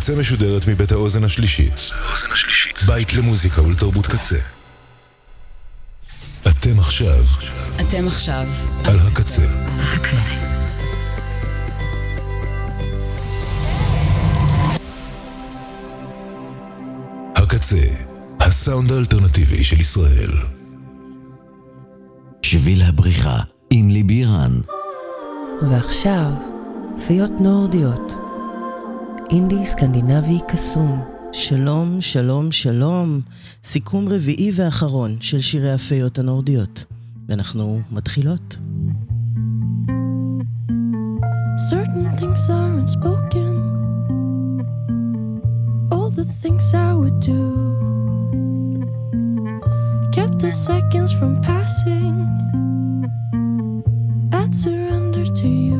הקצה משודרת מבית האוזן השלישית. בית למוזיקה ולתרבות קצה. אתם עכשיו על הקצה. הקצה, הסאונד האלטרנטיבי של ישראל. שביל הבריחה עם ליבי רן. ועכשיו, פיות נורדיות. אינדי סקנדינבי קסום. שלום, שלום, שלום. סיכום רביעי ואחרון של שירי הפיות הנורדיות. ואנחנו מתחילות. Certain things are unspoken. All the things I would do kept the seconds from passing. I'd surrender to you.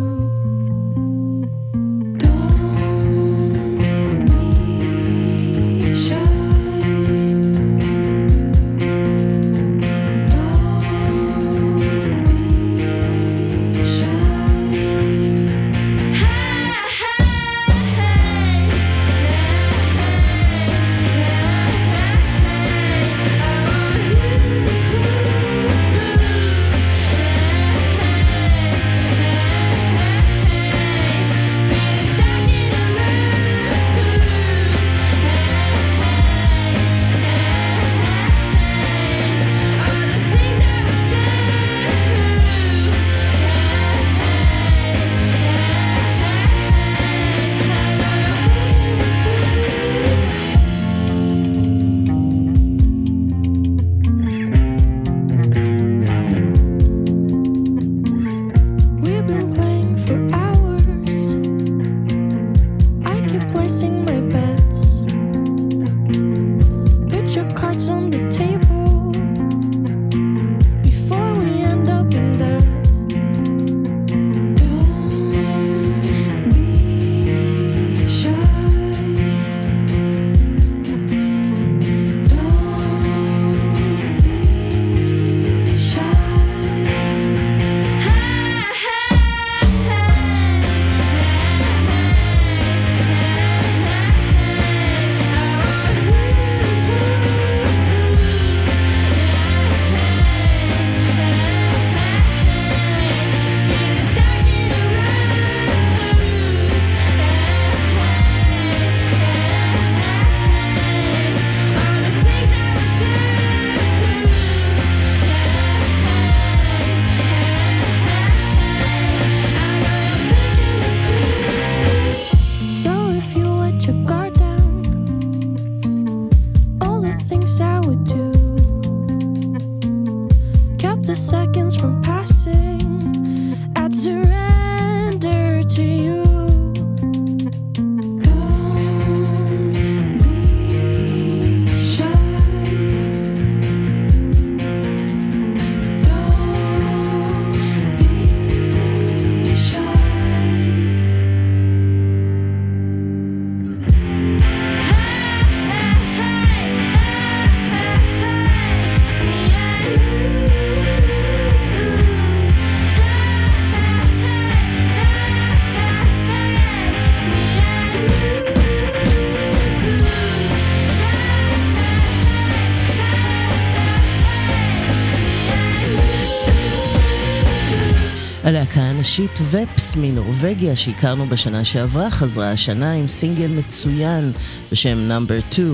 הלהקה הנשית ופס מנורווגיה שהכרנו בשנה שעברה חזרה השנה עם סינגל מצוין בשם נאמבר 2.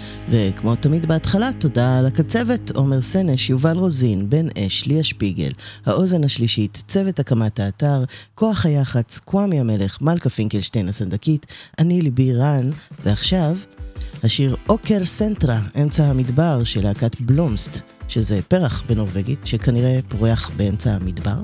וכמו תמיד בהתחלה, תודה על הקצבת, עומר סנש, יובל רוזין, בן אש, ליה שפיגל, האוזן השלישית, צוות הקמת האתר, כוח היחץ, קוואמי המלך, מלכה פינקלשטיין הסנדקית, אני ליבי רן, ועכשיו השיר אוקר סנטרה, אמצע המדבר של להקת בלומסט, שזה פרח בנורווגית שכנראה פורח באמצע המדבר.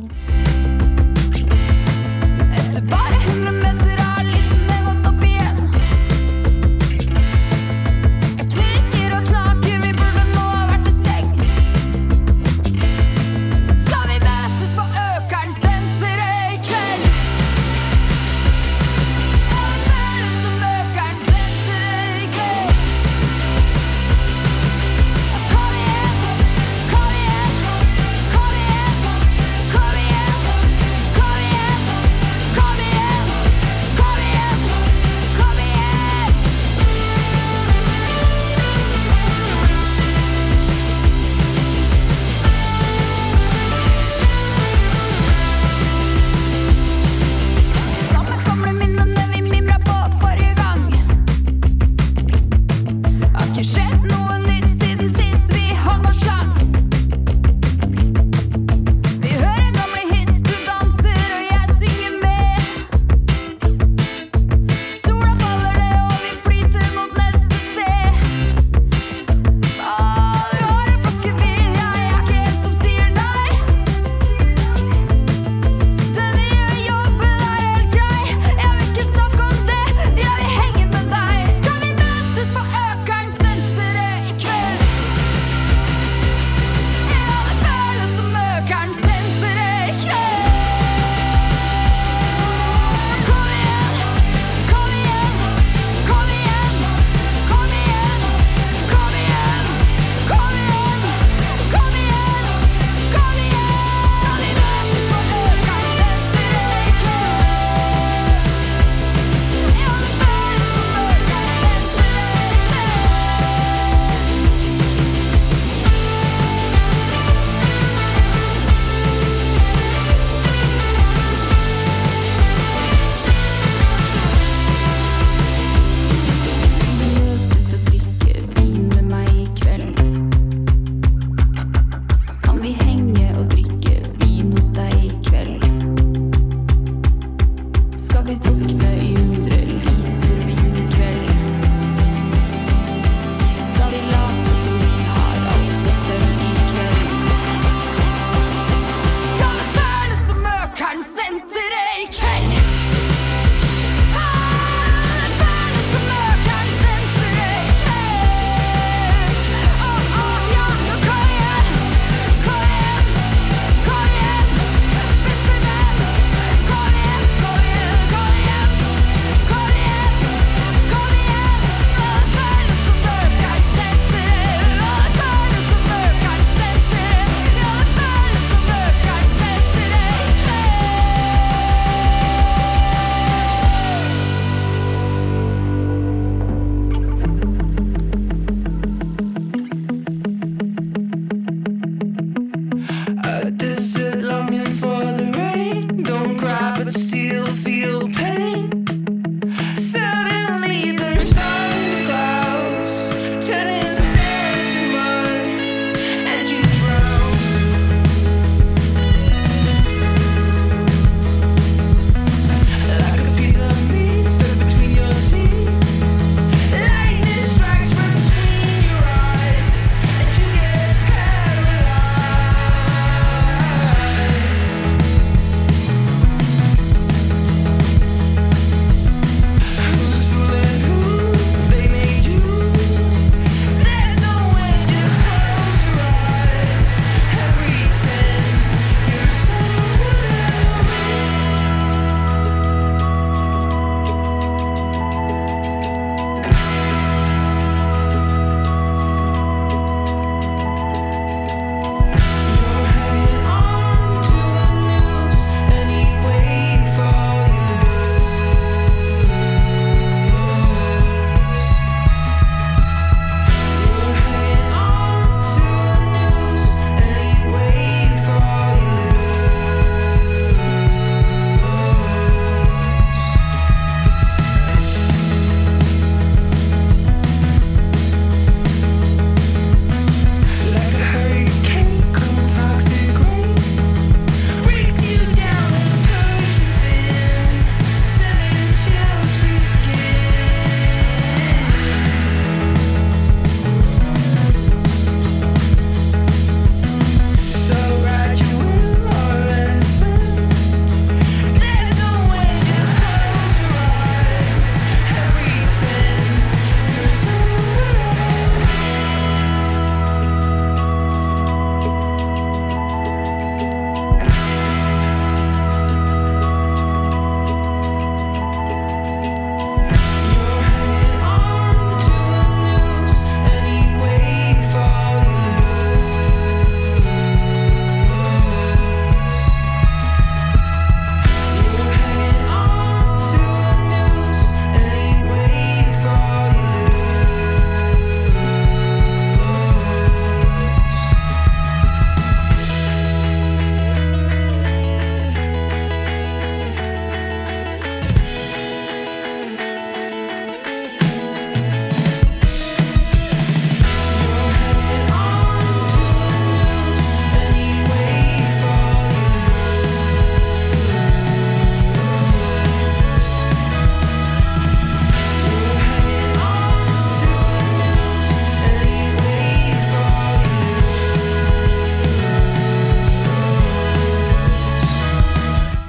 Kom igen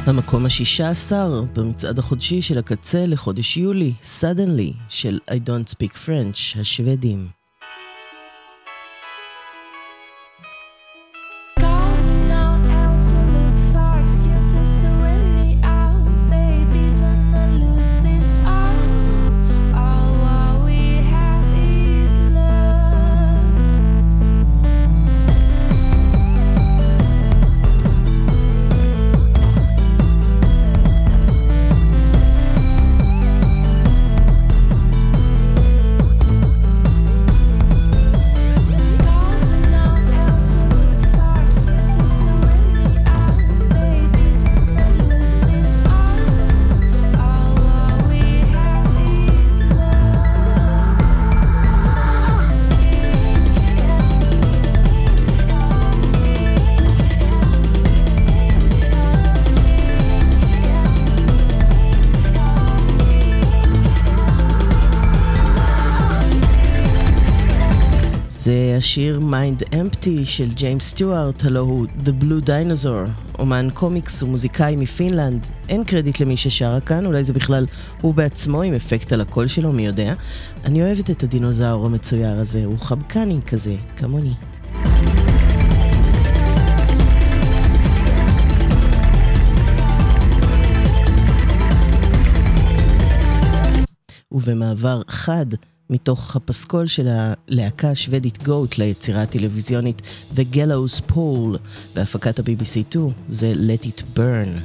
המקום ה-16 במצעד החודשי של הקצה לחודש יולי, Suddenly של I Don't Speak French, השוודים. זה השיר Mind Empty של ג'יימס סטיוארט, הלו הוא The Blue Dinosaur, אומן קומיקס ומוזיקאי מפינלנד. אין קרדיט למי ששרה כאן, אולי זה בכלל הוא בעצמו עם אפקט על הקול שלו, מי יודע. אני אוהבת את הדינוזאור המצויר הזה, הוא חבקני כזה, כמוני. ובמעבר חד מתוך הפסקול של הלהקה השוודית גוט ליצירה הטלוויזיונית The Gallows Pole בהפקת ה-BBC2, זה Let It Burn.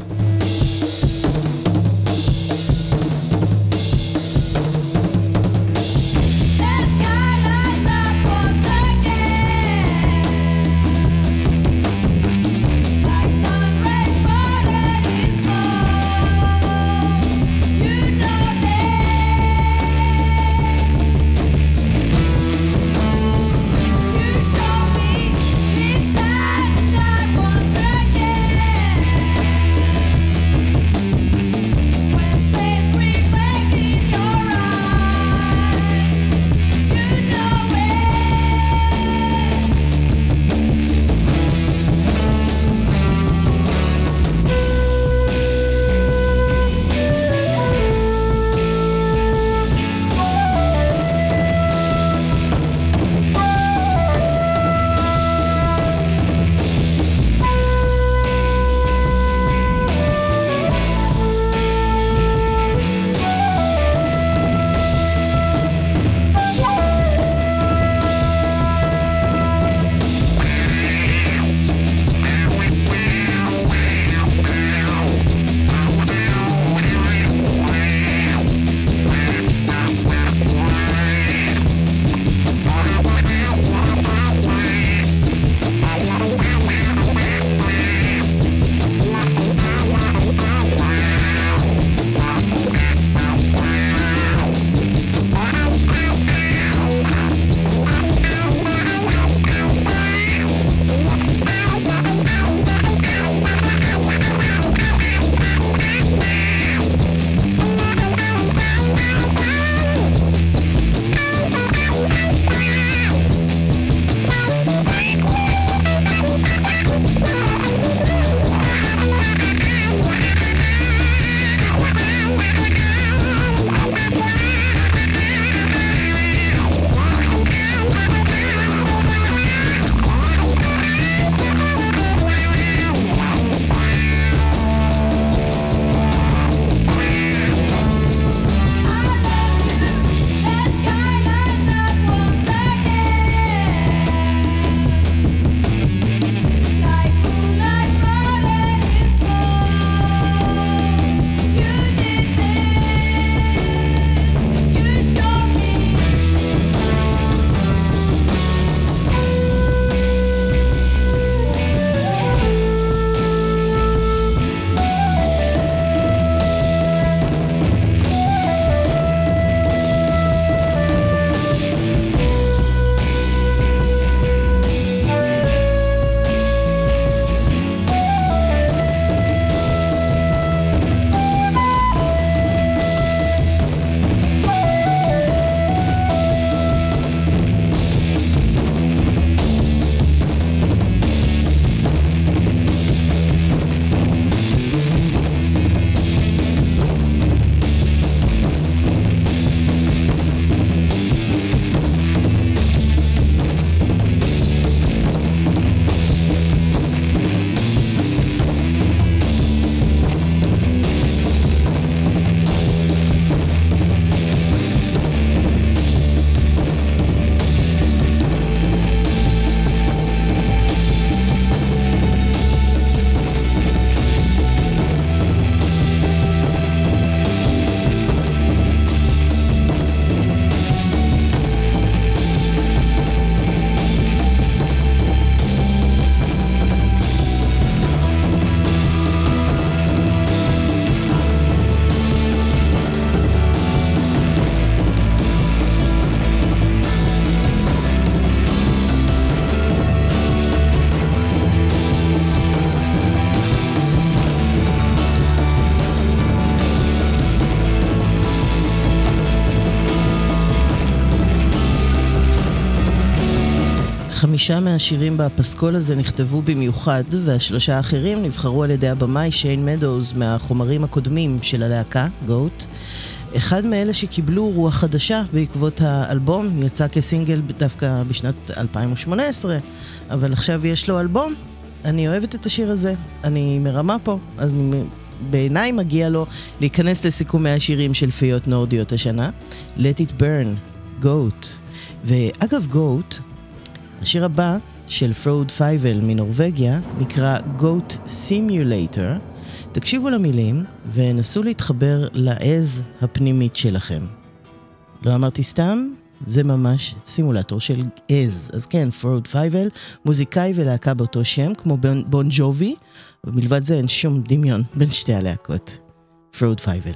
5 מהשירים בפסקול הזה נכתבו במיוחד, וה3 האחרים נבחרו על ידי הבמאי שיין מדוז מהחומרים הקודמים של הלהקה, גוט. אחד מאלה שקיבלו רוח חדשה בעקבות האלבום, יצא כסינגל דווקא בשנת 2018, אבל עכשיו יש לו אלבום. אני אוהבת את השיר הזה, אני מרמה פה, אז בעיניי מגיע לו להיכנס לסיכומי השירים של פיות נורדיות השנה. Let It Burn, גוט. ואגב גוט, השיר הבא של פרוד פייבל מנורווגיה נקרא גוט סימולטור. תקשיבו למילים ונסו להתחבר לעז הפנימית שלכם. לא אמרתי סתם, זה ממש סימולטור של עז. אז כן, פרוד פייבל, מוזיקאי ולהקה באותו שם כמו בון ג'ובי, ומלבד זה אין שום דמיון בין שתי הלהקות. פרוד פייבל.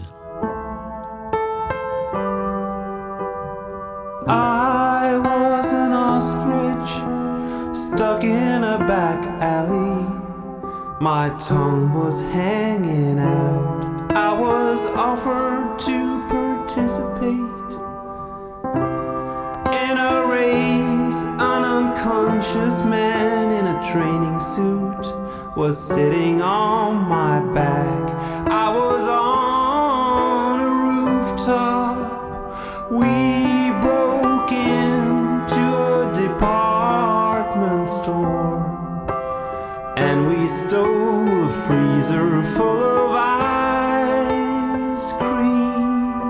I was an ostrich stuck in a back alley. My tongue was hanging out. I was offered to participate in a race. An unconscious man in a training suit was sitting on my back. I was on a rooftop. We broke into a department store and we stole a freezer full of ice cream.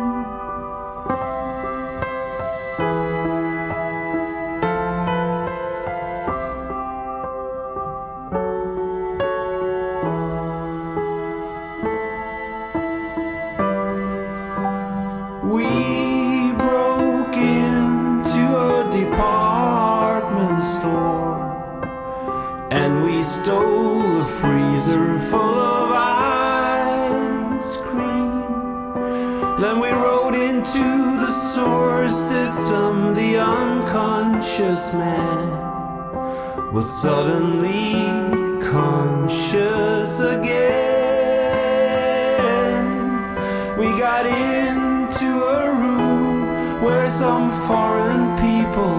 We broke into a department store and we stole a freezer full of ice cream. Then we rode into the sewer system. The unconscious man was suddenly conscious again. We got into a room where some foreign people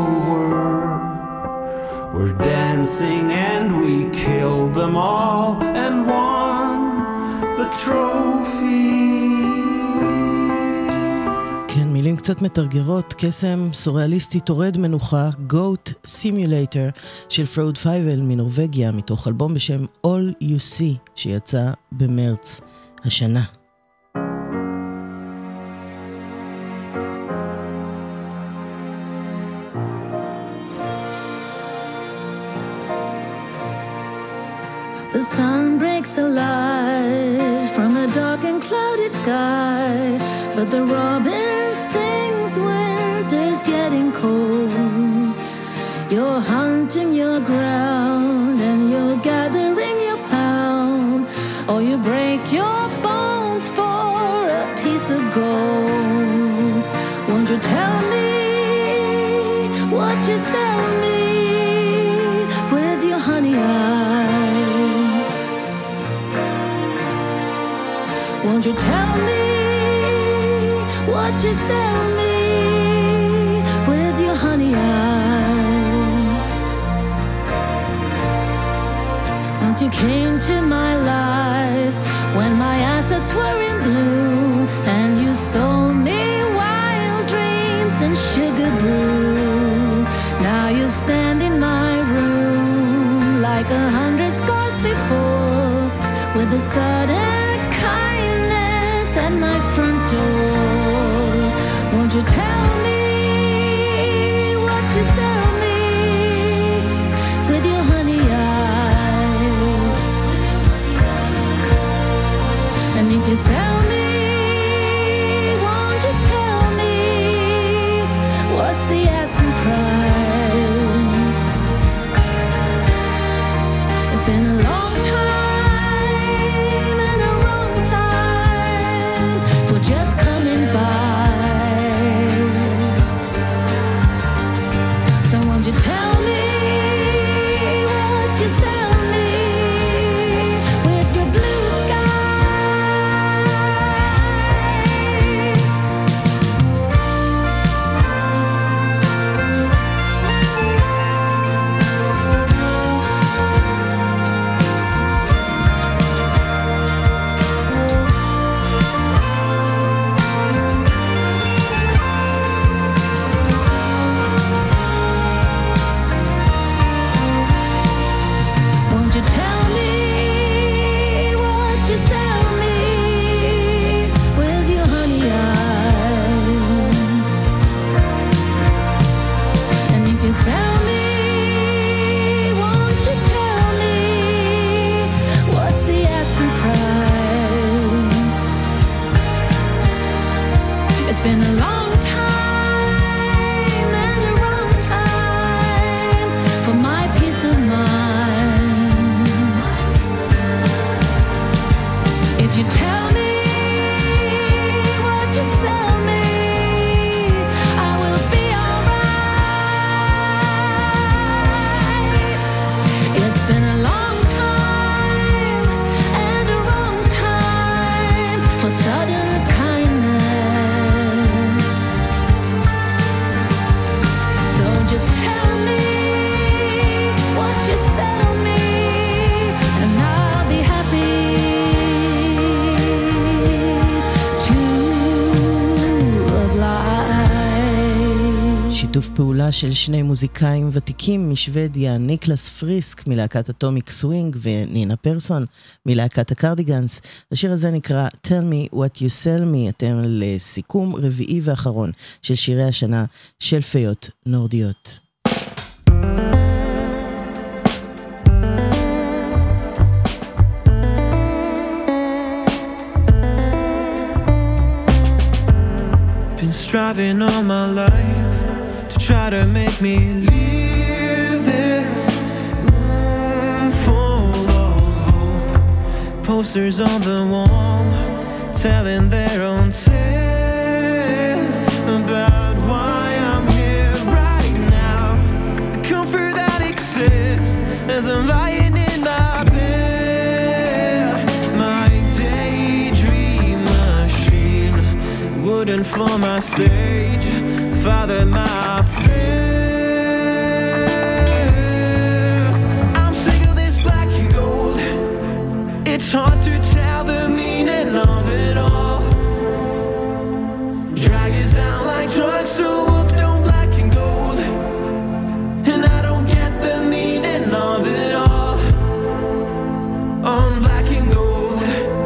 were dancing and we killed them all and won the trophy. כן, מילים קצת מתרגרות, קסם סוריאליסטי תורד מנוחה, גוט סימולטור של פרוד פייבל מנורווגיה, מתוך אלבום בשם All You See שיצא במרץ השנה. The sun breaks alive from a dark and cloudy sky, but the robin sings winter's getting cold. You're hunting your ground and you're gathering your pound, or you break your bones for a piece of gold. Won't you tell me what you sell me with your honey eyes? Won't you tell me what you sell me with your honey eyes? Once you came to my life when my assets were in bloom, and you sold me wild dreams and sugar brew. Now you stand in my room like 100 scars before, with a sudden kindness at my front door. Won't you tell me what you sell me with your honey eyes? And if you sell me, won't you tell me what's the asking price? It's been a long time and a wrong time for just coming by. long time and a wrong time for my peace of mind. If you tell me what you sell me, I will be alright. It's been a long time and a wrong time for sudden kindness. So just tell me what you settle me, and I'll be happy to oblige. שיתוף פעולה של שני מוזיקאים ותיקים משוודיה, ניקלס פריסק מלהקת אטומיק סווינג ונינה פרסון מלהקת הקרדיגנס. השיר הזה נקרא Tell Me What You Sell Me. אתם לסיכום רביעי ואחרון של שירי השנה של פיות נורדיות. Been striving all my life to try to make me leave this room full of hope. Posters on the wall telling their own tales about why I'm here right now. The comfort that exists as I'm lying in my bed. My daydream machine wouldn't floor my stage, father my fears. I'm sick of this black and gold. It's hard to tell the meaning of it all. Drag us down like drugs, so hooked on black and gold, and I don't get the meaning of it all. On black and gold,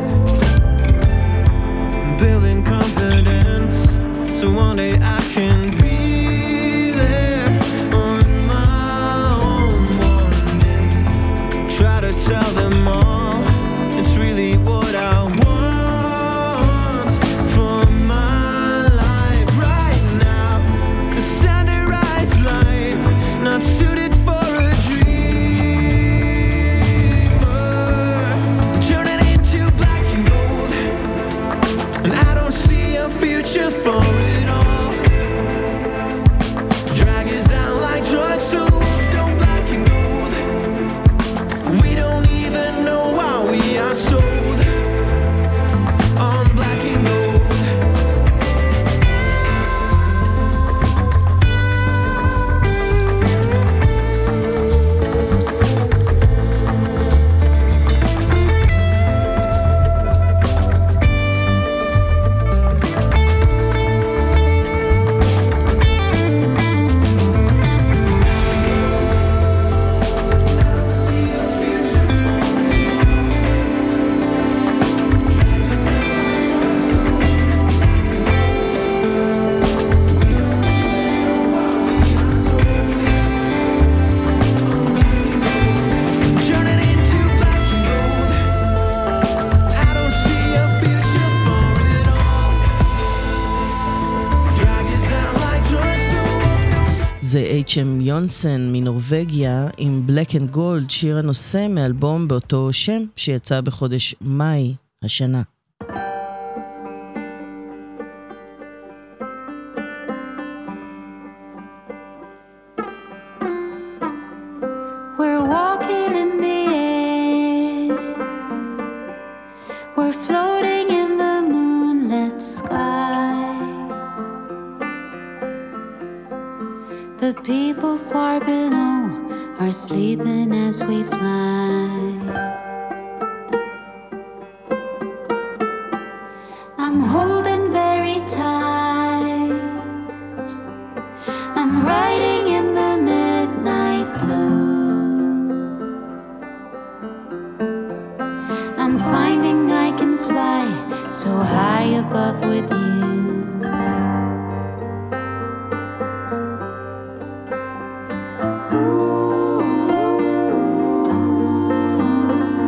building confidence so one day I can be there on my own one day. Try to tell them all it's really what I want for my life right now. A standardized life not suited for a dreamer. Turning into black and gold, and I don't see a future for it all. Drag us down like drugs, so hooked on black and gold. We don't even know why we are sold on black and gold. Turning into black and gold, I don't see a future for it all. Drag us down like drugs, so hooked on. זה H.M. יונסן מנורווגיה עם Black and Gold, שיר הנושא מאלבום באותו שם שיצא בחודש מאי השנה. We're walking in the air, we're floating in the moonlit sky. The people far below are sleeping as we fly. I'm holding very tight, I'm riding in the midnight blue. I'm finding I can fly so high above with you. Ooh.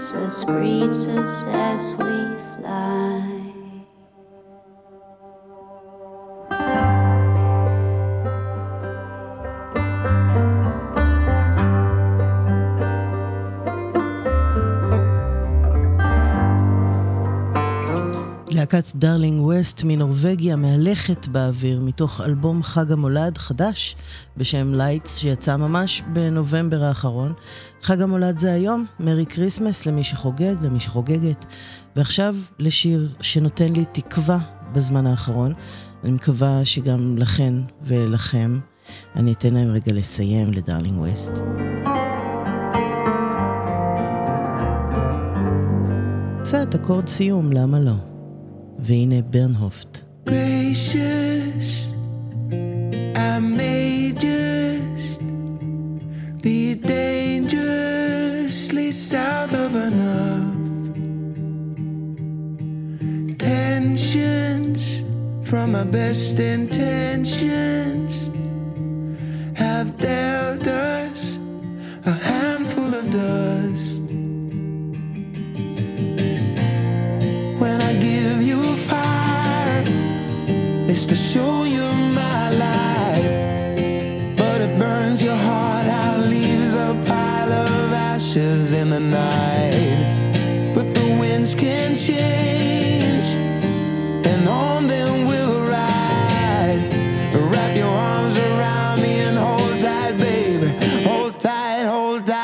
Jesus greets us as we fly. להקת דארלינג ווסט מנורווגיה מהלכת באוויר מתוך אלבום חג המולד חדש בשם לייטס שיצא ממש בנובמבר האחרון. חג המולד זה היום, מרי קריסמס למי שחוגג, למי שחוגגת. ועכשיו לשיר שנותן לי תקווה בזמן האחרון. אני מקווה שגם לכן ולכם. אני אתן להם רגע לסיים לדארלינג ווסט. קצת אקורד סיום, למה לא? והנה ברנהופט. Gracious, I may just be dangerously south of enough. Tensions from my best intentions have dealt us a handful of dust. When I give you fire, it's to show you my light, but it burns your heart out, leaves a pile of ashes in the night. But the winds can change, and on them we'll ride. Wrap your arms around me and hold tight, baby. Hold tight, hold tight.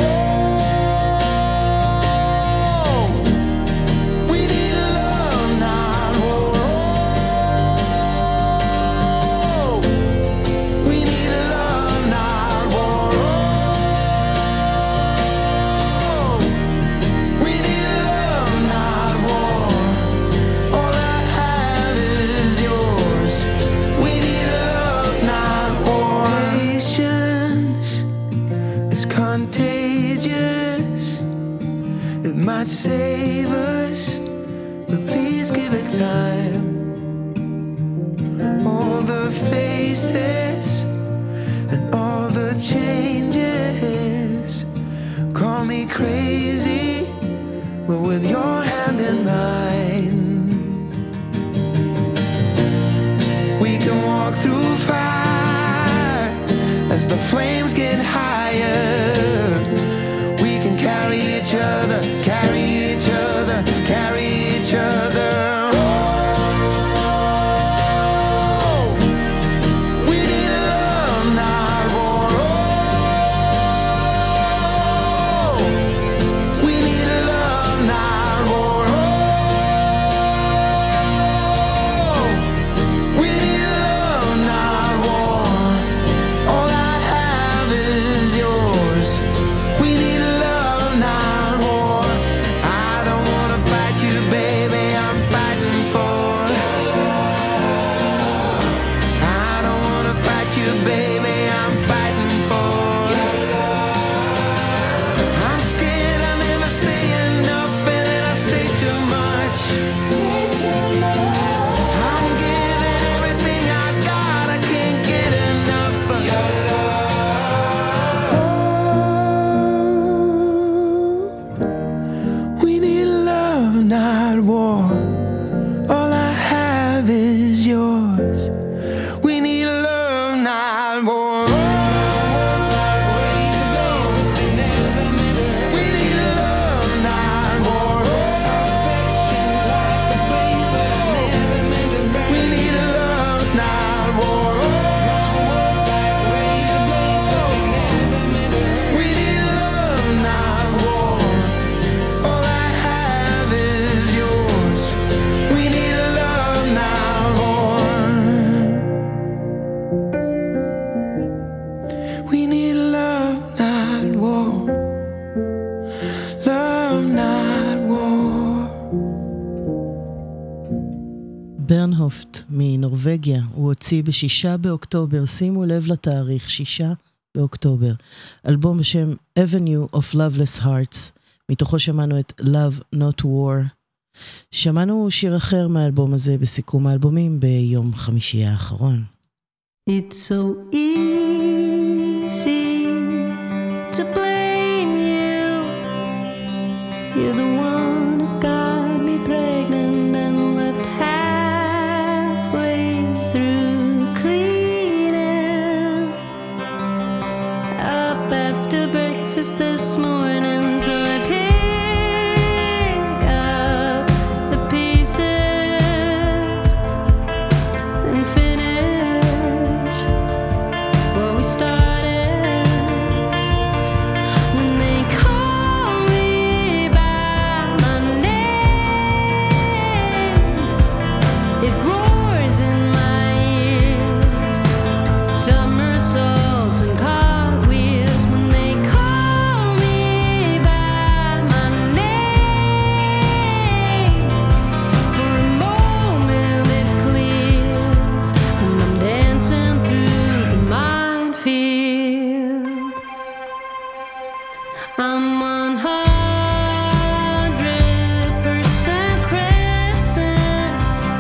Contagious, it might save us, but please give it time. All the faces and all the changes call me crazy, but with your hand in mine, we can walk through fire as the flames get higher. We can carry each other, carry each other, carry each other. Oh, we need love, not war. Oh, we need love, not war. Oh, we need love, not war. All I have is yours. We need love, not war. I don't wanna fight you, baby, I'm fighting for your love. I don't wanna fight you, baby, I'm fighting for your love. I'm scared I never say enough and then I say too much. Say too much. I'm giving everything I got, I can't get enough of your love. We need love, not war. All I have is yours. We need love, not war. We need love, not war. We need love, not war. We need love, not war. All I have is yours. We need love, not war. We need love, not war. Love, not war. ברנהופט מנורווגיה, הוא הוציא ב6 באוקטובר, שימו לב לתאריך, 6 באוקטובר, אלבום בשם Avenue of Loveless Hearts, מתוכו שמענו את Love Not War. שמענו שיר אחר מהאלבום הזה בסיכום האלבומים ביום חמישי האחרון. It's so easy to blame you You're the one who got me pregnant and left halfway through cleaning up after breakfast this morning, so I pick up the pieces and finish what we started. When they call me by my name, it roars in my ears. Somersaults and cartwheels. When they call me by my name, for a moment it clears, and I'm dancing through the minefield. I'm 100% present,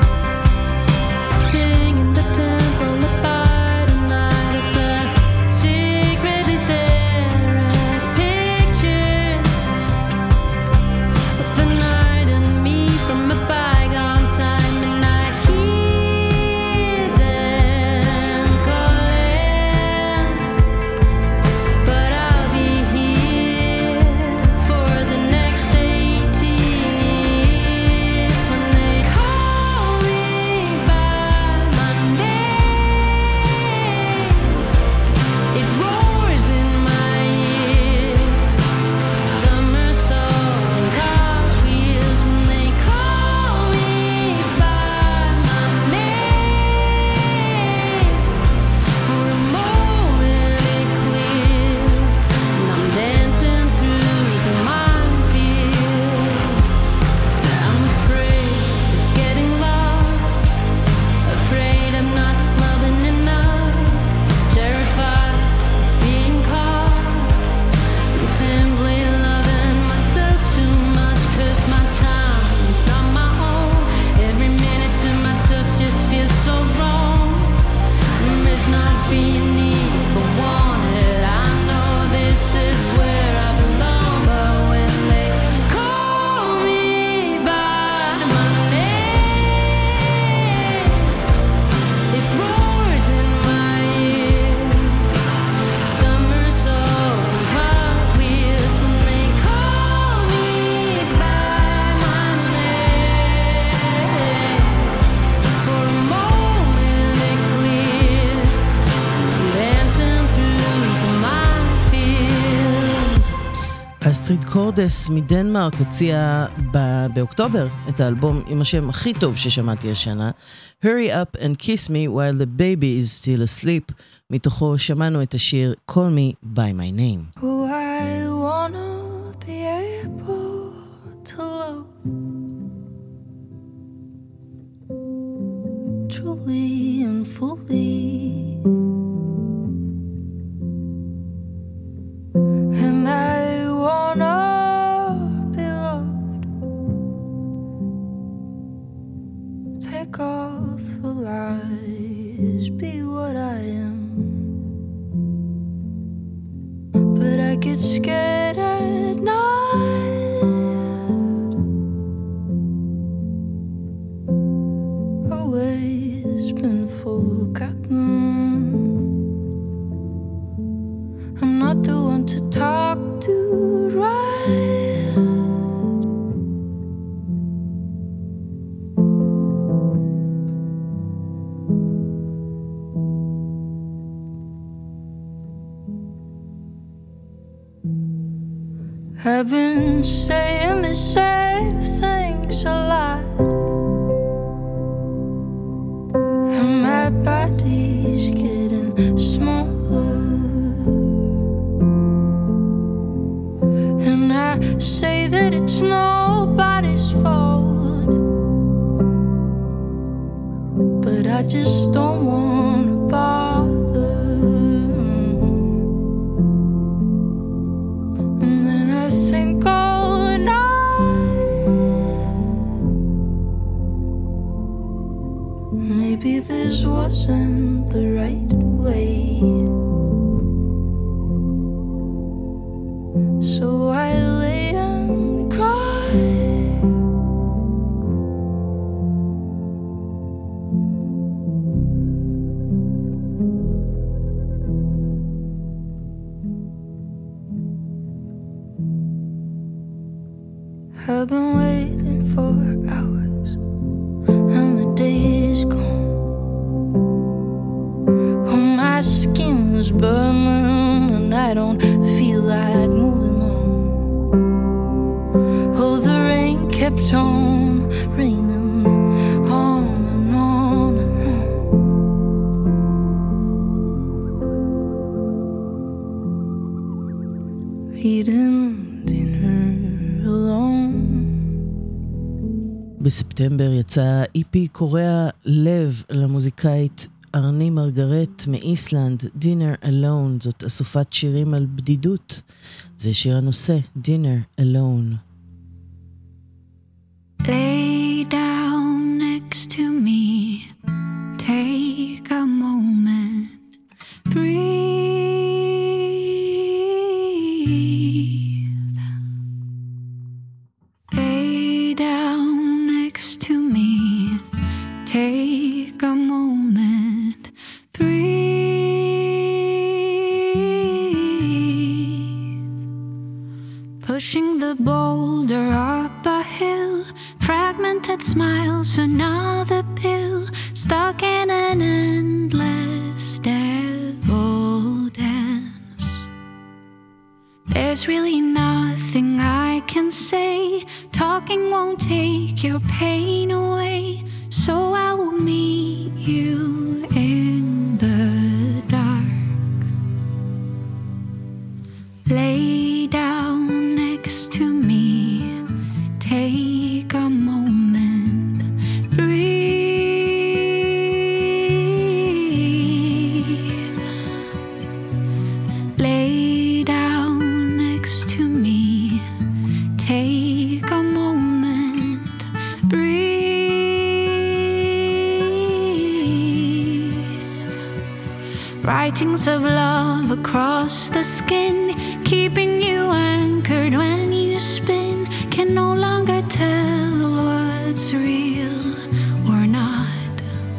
singing the temple apart tonight. As I secretly stare at pictures of the night and me from a bygone time, and I hear them calling. But I'll be here for the next 18 years. When they call me by my name, it roars in my ears. Somersaults and cartwheels. When they call me by my name, for a moment it clears, and I'm dancing through the minefield. I'm afraid of getting lost, afraid I'm not loving enough, terrified of being caught, and simply loving myself too much, 'cause my time is not my own. Every minute to myself just feels so wrong. It's not being needed but wanted. I know this is where I belong, but when they call me by my name, it roars in my ears. Somersaults and cartwheels. When they call me by my name, for a moment it clears, and I'm dancing through the minefield. אסטריד קורדס מדנמרק הוציאה באוקטובר את האלבום עם השם הכי טוב ששמעתי השנה, Hurry Up and Kiss Me While the Baby is Still Asleep. מתוכו שמענו את השיר Call Me by My Name. Oh, I wanna be able to love truly and fully, and I wanna be loved. Take off the lies, be what I am. But I get scared at night, always been forgotten. I'm not the one to talk to, right? I've been saying the same things a lot, and my body's getting smaller, and I say that it's nobody's fault, but I just don't want to bother. And then I think all night, maybe this wasn't the right way. So I lay and cry. I've been waiting for hours and the day is gone. Oh, my skin's burning and I don't feel like moving on. Oh, the rain kept on raining on and on and on. Eating dinner alone. בספטמבר יצא איפי קורע לב למוזיקאית ארני מרגרט מאיסלנד, Dinner Alone. זאת אסופת שירים על בדידות. זה שיר הנושא, Dinner Alone. Lay down next to me, take a moment, breathe. Lay down next to me, take a moment, breathe. Pushing the boulder up a hill, fragmented smiles, another pill, stuck in an endless devil dance. There's really nothing I can say, talking won't take your pain away, so I will meet you in the dark. Lay down next to me, take a moment, breathe. Lay down next to me, take a moment, breathe. Writings of love across the skin, keeping you anchored when you spin, can no longer tell what's real or not.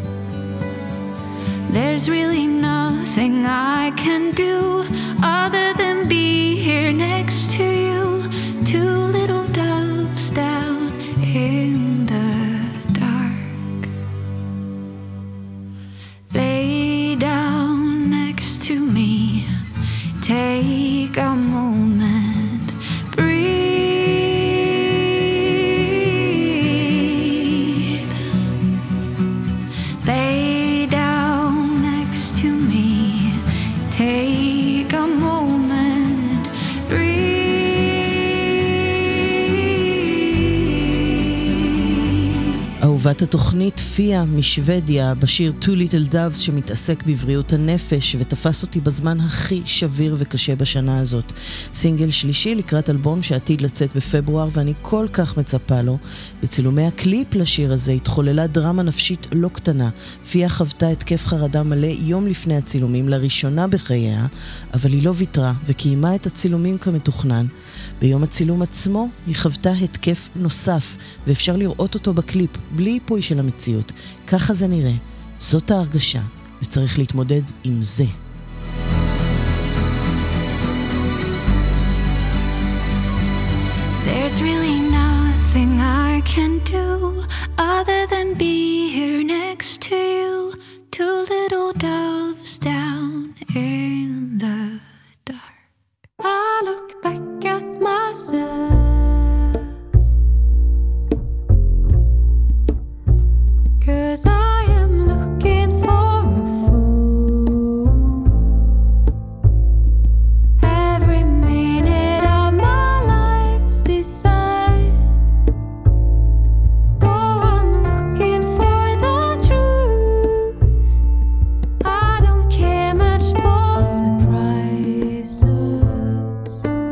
There's really nothing I can do other than be here next to you, two little doves down in the dark. Lay down next to me, take a moment, breathe. Lay down next to me, take a moment, breathe. אהובת התוכנית פיה משוודיה בשיר Two Little Doves שמתעסק בבריאות הנפש ותפס אותי בזמן הכי שביר וקשה בשנה הזאת. סינגל שלישי לקראת אלבום שעתיד לצאת בפברואר ואני כל כך מצפה לו. בצילומי הקליפ לשיר הזה התחוללה דרמה נפשית לא קטנה. פיה חוותה התקף חרדה מלא יום לפני הצילומים לראשונה בחייה, אבל היא לא ויתרה וקיימה את הצילומים כמתוכנן. ביום הצילום עצמו היא חוותה התקף נוסף ואפשר לראות אותו בקליפ בלי היפוי של המציאות. ככה זה נראה, זאת ההרגשה וצריך להתמודד עם זה. There's really nothing I can do other than be here next to you, two little doves down in the dark. I look back at myself, 'cause I am looking for a fool. Every minute of my life's design, though I'm looking for the truth, I don't care much for surprises.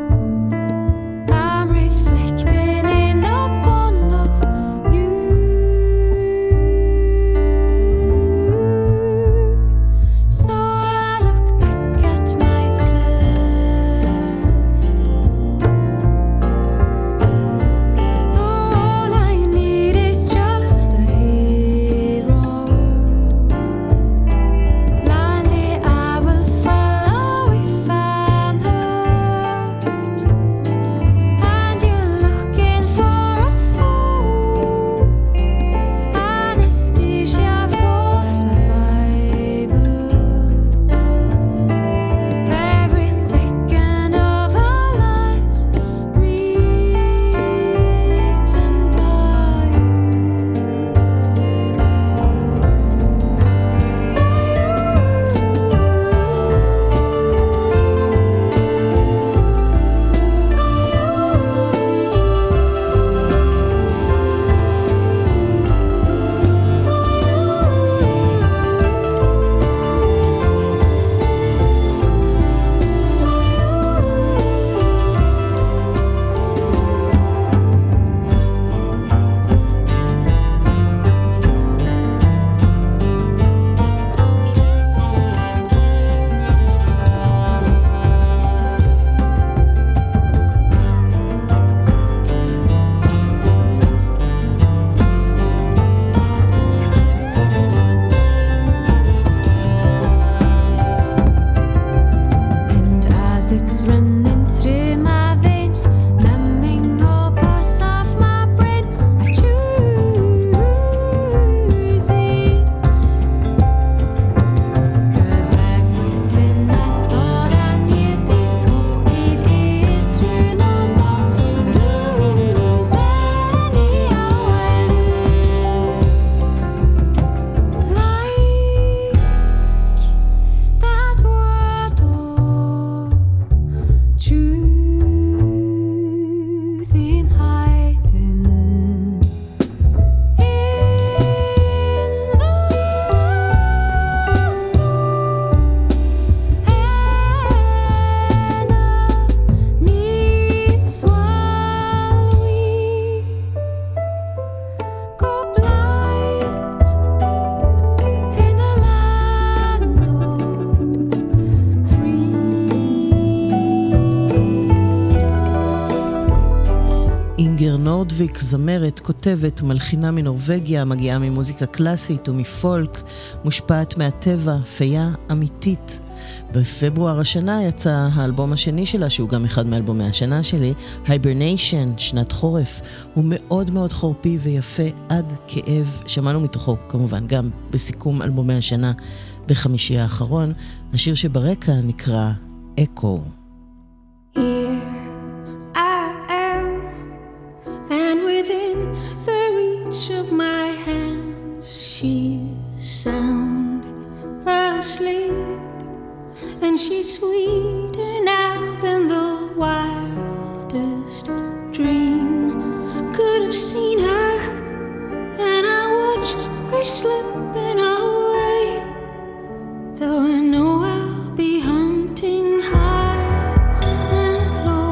אינגר נורדוויק, זמרת, כותבת ומלחינה מנורווגיה, מגיעה ממוזיקה קלאסית ומפולק, מושפעת מהטבע, פיה אמיתית. בפברואר השנה יצא האלבום השני שלה, שהוא גם אחד מאלבומי השנה שלי, Hibernation, שנת חורף. הוא מאוד מאוד חורפי ויפה עד כאב. שמענו מתוכו כמובן גם בסיכום אלבומי השנה בחמישי האחרון. השיר שברקע נקרא Echo. Here I am, and within the reach of my hands she's sound asleep, and she's sweeter now than the wildest dream could have seen her, and I watched her slipping away, though I know I'll be hunting high and low.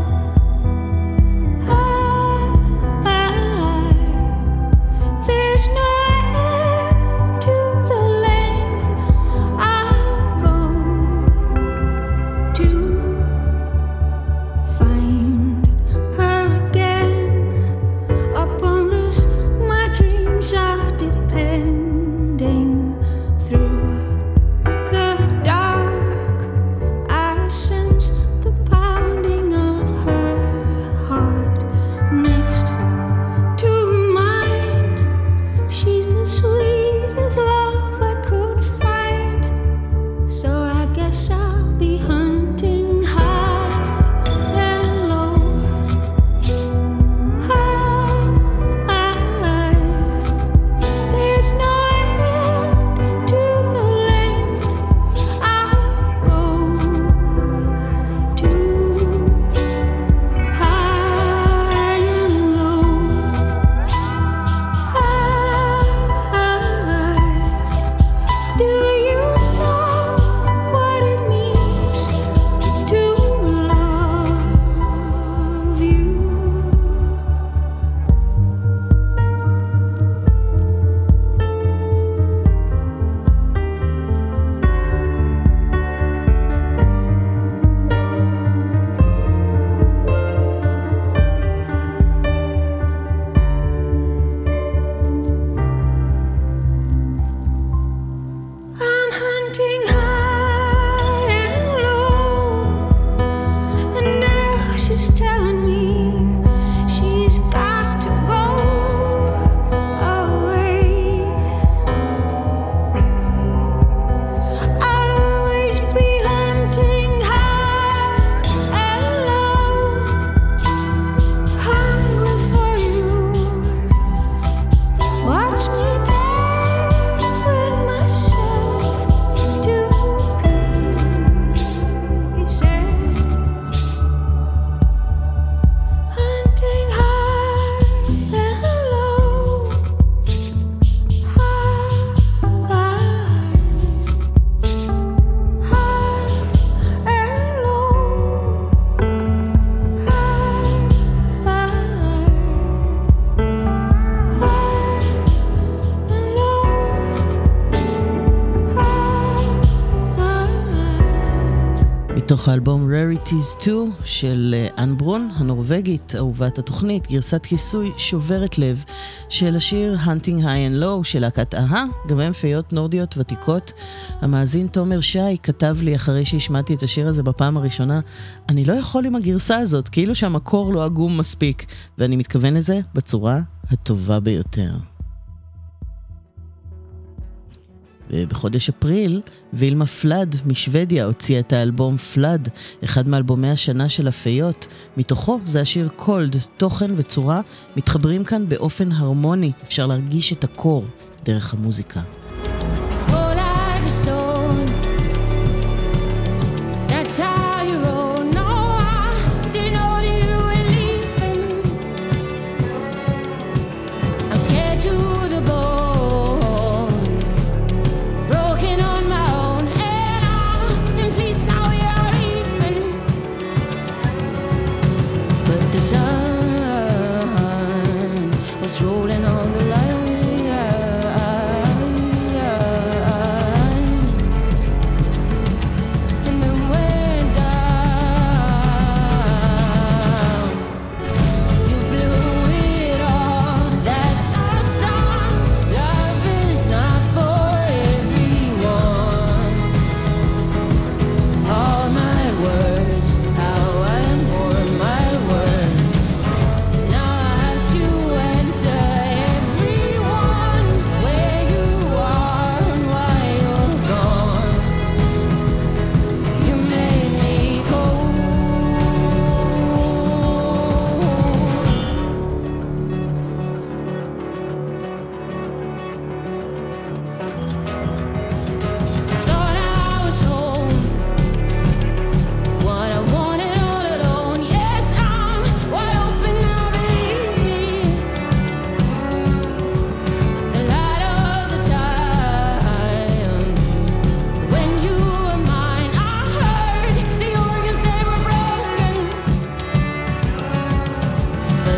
There's no end to the length I'll go to find her again. Upon this, my dreams are depending. Through the dark, I sense the pounding of her heart next to mine. She's the sweetest love I could find, so I guess I'll be hunting high and low. There's no end to the length I'll go to high and low. Do you know what it means to love you? I'm hunting high and low, and now she's telling me she's got to go away. I'll always be hunting high and low, hungry for you. Watch me tearing myself to pieces, hunting high and low, high and low, מתוך האלבום Rarities 2 של אן ברון, הנורווגית, אהובת התוכנית, גרסת כיסוי שוברת לב של השיר Hunting High and Low של להקת אהה, גם הם פיות נורדיות ותיקות. המאזין תומר שי כתב לי אחרי שהשמעתי את השיר הזה בפעם הראשונה, אני לא יכול עם הגרסה הזאת, כאילו שהמקור לא עגום מספיק, ואני מתכוון לזה בצורה הטובה ביותר. ובחודש אפריל, וילמה פלד משוודיה הוציאה את האלבום פלד, אחד מאלבומי השנה של הפיות. מתוכו זה השיר קולד, תוכן וצורה מתחברים כאן באופן הרמוני, אפשר להרגיש את הקור דרך המוזיקה. Rolling on the line,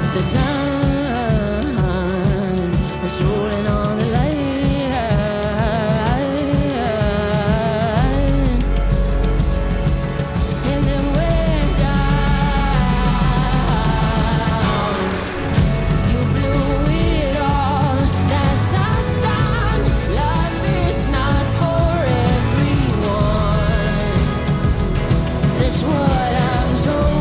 the sun was rolling on the line. And then went down. You blew it all. That's our stand. Love is not for everyone. That's what I'm told.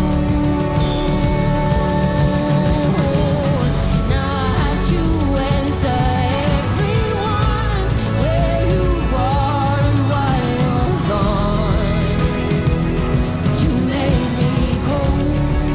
Now I have to answer everyone where you are and why you're gone. You made me cold.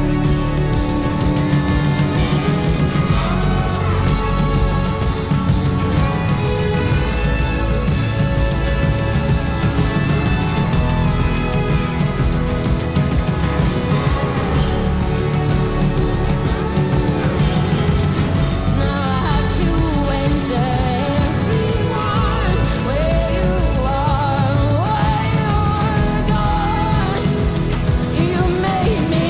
Now I have to answer everyone where you are and why you're gone. You made me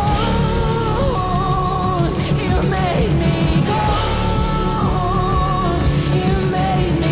cold. You made me cold. You made me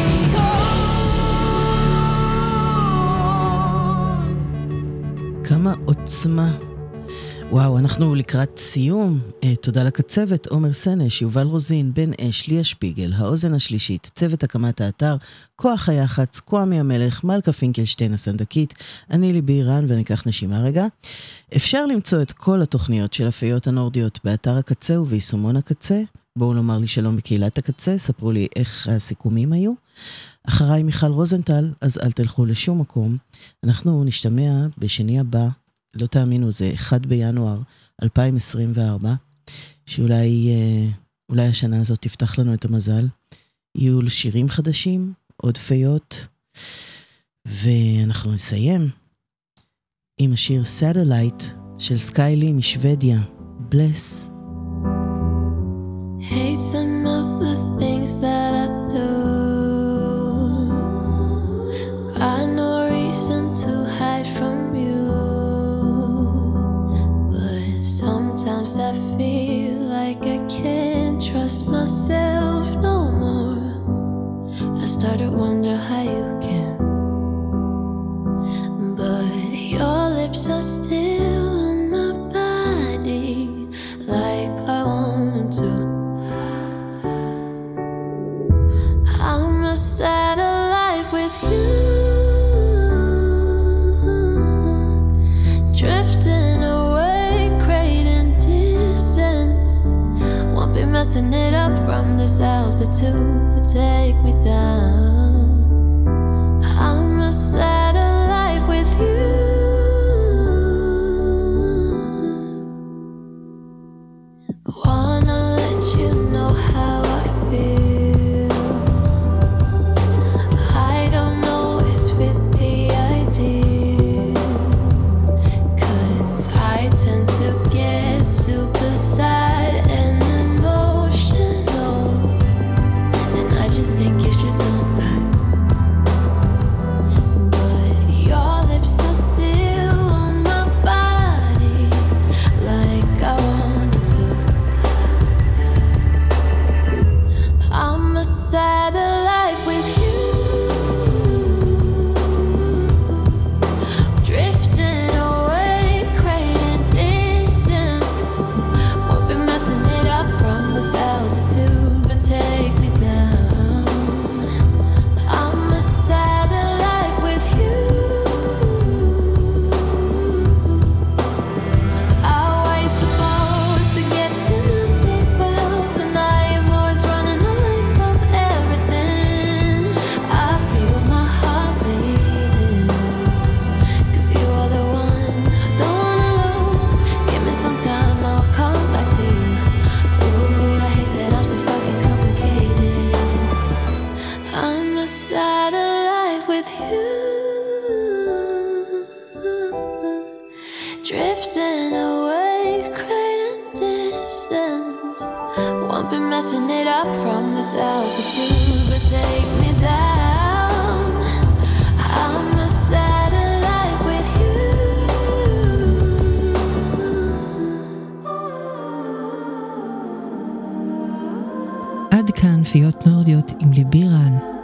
cold. כמה עוצמה. וואו, אנחנו לקראת סיום. תודה לקצבת, עומר סנש, יובל רוזין, בן אש, ליה שפיגל, האוזן השלישית, צוות הקמת האתר, כוח היח"צ, קוואמי המלך, מלכה פינקלשטיין הסנדקית, אני ליבי אירן וניקח נשימה רגע. אפשר למצוא את כל התוכניות של הפיות הנורדיות באתר הקצה וביישומון הקצה. בואו לומר לי שלום בקהילת הקצה, ספרו לי איך הסיכומים היו. אחריי מיכל רוזנטל, אז אל תלכו לשום מקום. אנחנו נשתמע בשני הבא, לא תאמינו, זה 1 בינואר 2024, שאולי השנה הזאת תפתח לנו את המזל. יהיו שירים חדשים, עוד פיות, ואנחנו נסיים עם השיר Satellite של סקיילי משוודיה. Bless. Hate some of the things that I do. Got no reason to hide from you. But sometimes I feel like I can't trust myself no more. I start to wonder how you can. But your lips are still on my body, like I want them to. I'm a satellite with you, drifting away, creating distance. Won't be messing it up from this altitude. Take me down. I'm a satellite with you. Wanna let you know how I feel. I don't always fit the ideal, 'cause I tend to get super sad and emotional, and I just think you should know that. But your lips are still on my body, like I wanted to. I'm a satellite with you, drifting away, creating distance. Won't be messing it up from this altitude, but take me down. I'm a satellite with you. How are you supposed to get to know me well when I am always running away from everything? I feel my heart beating, 'cause you are the one I don't wanna lose. Give me some time, I'll come back to you. Ooh, I hate that I'm so fucking complicated. I'm a satellite with you, drifting away, creating distance. Won't be messing it up from this altitude, but take me down. I'm a satellite with you. עד כאן פיות נורדיות עם ליבי רן.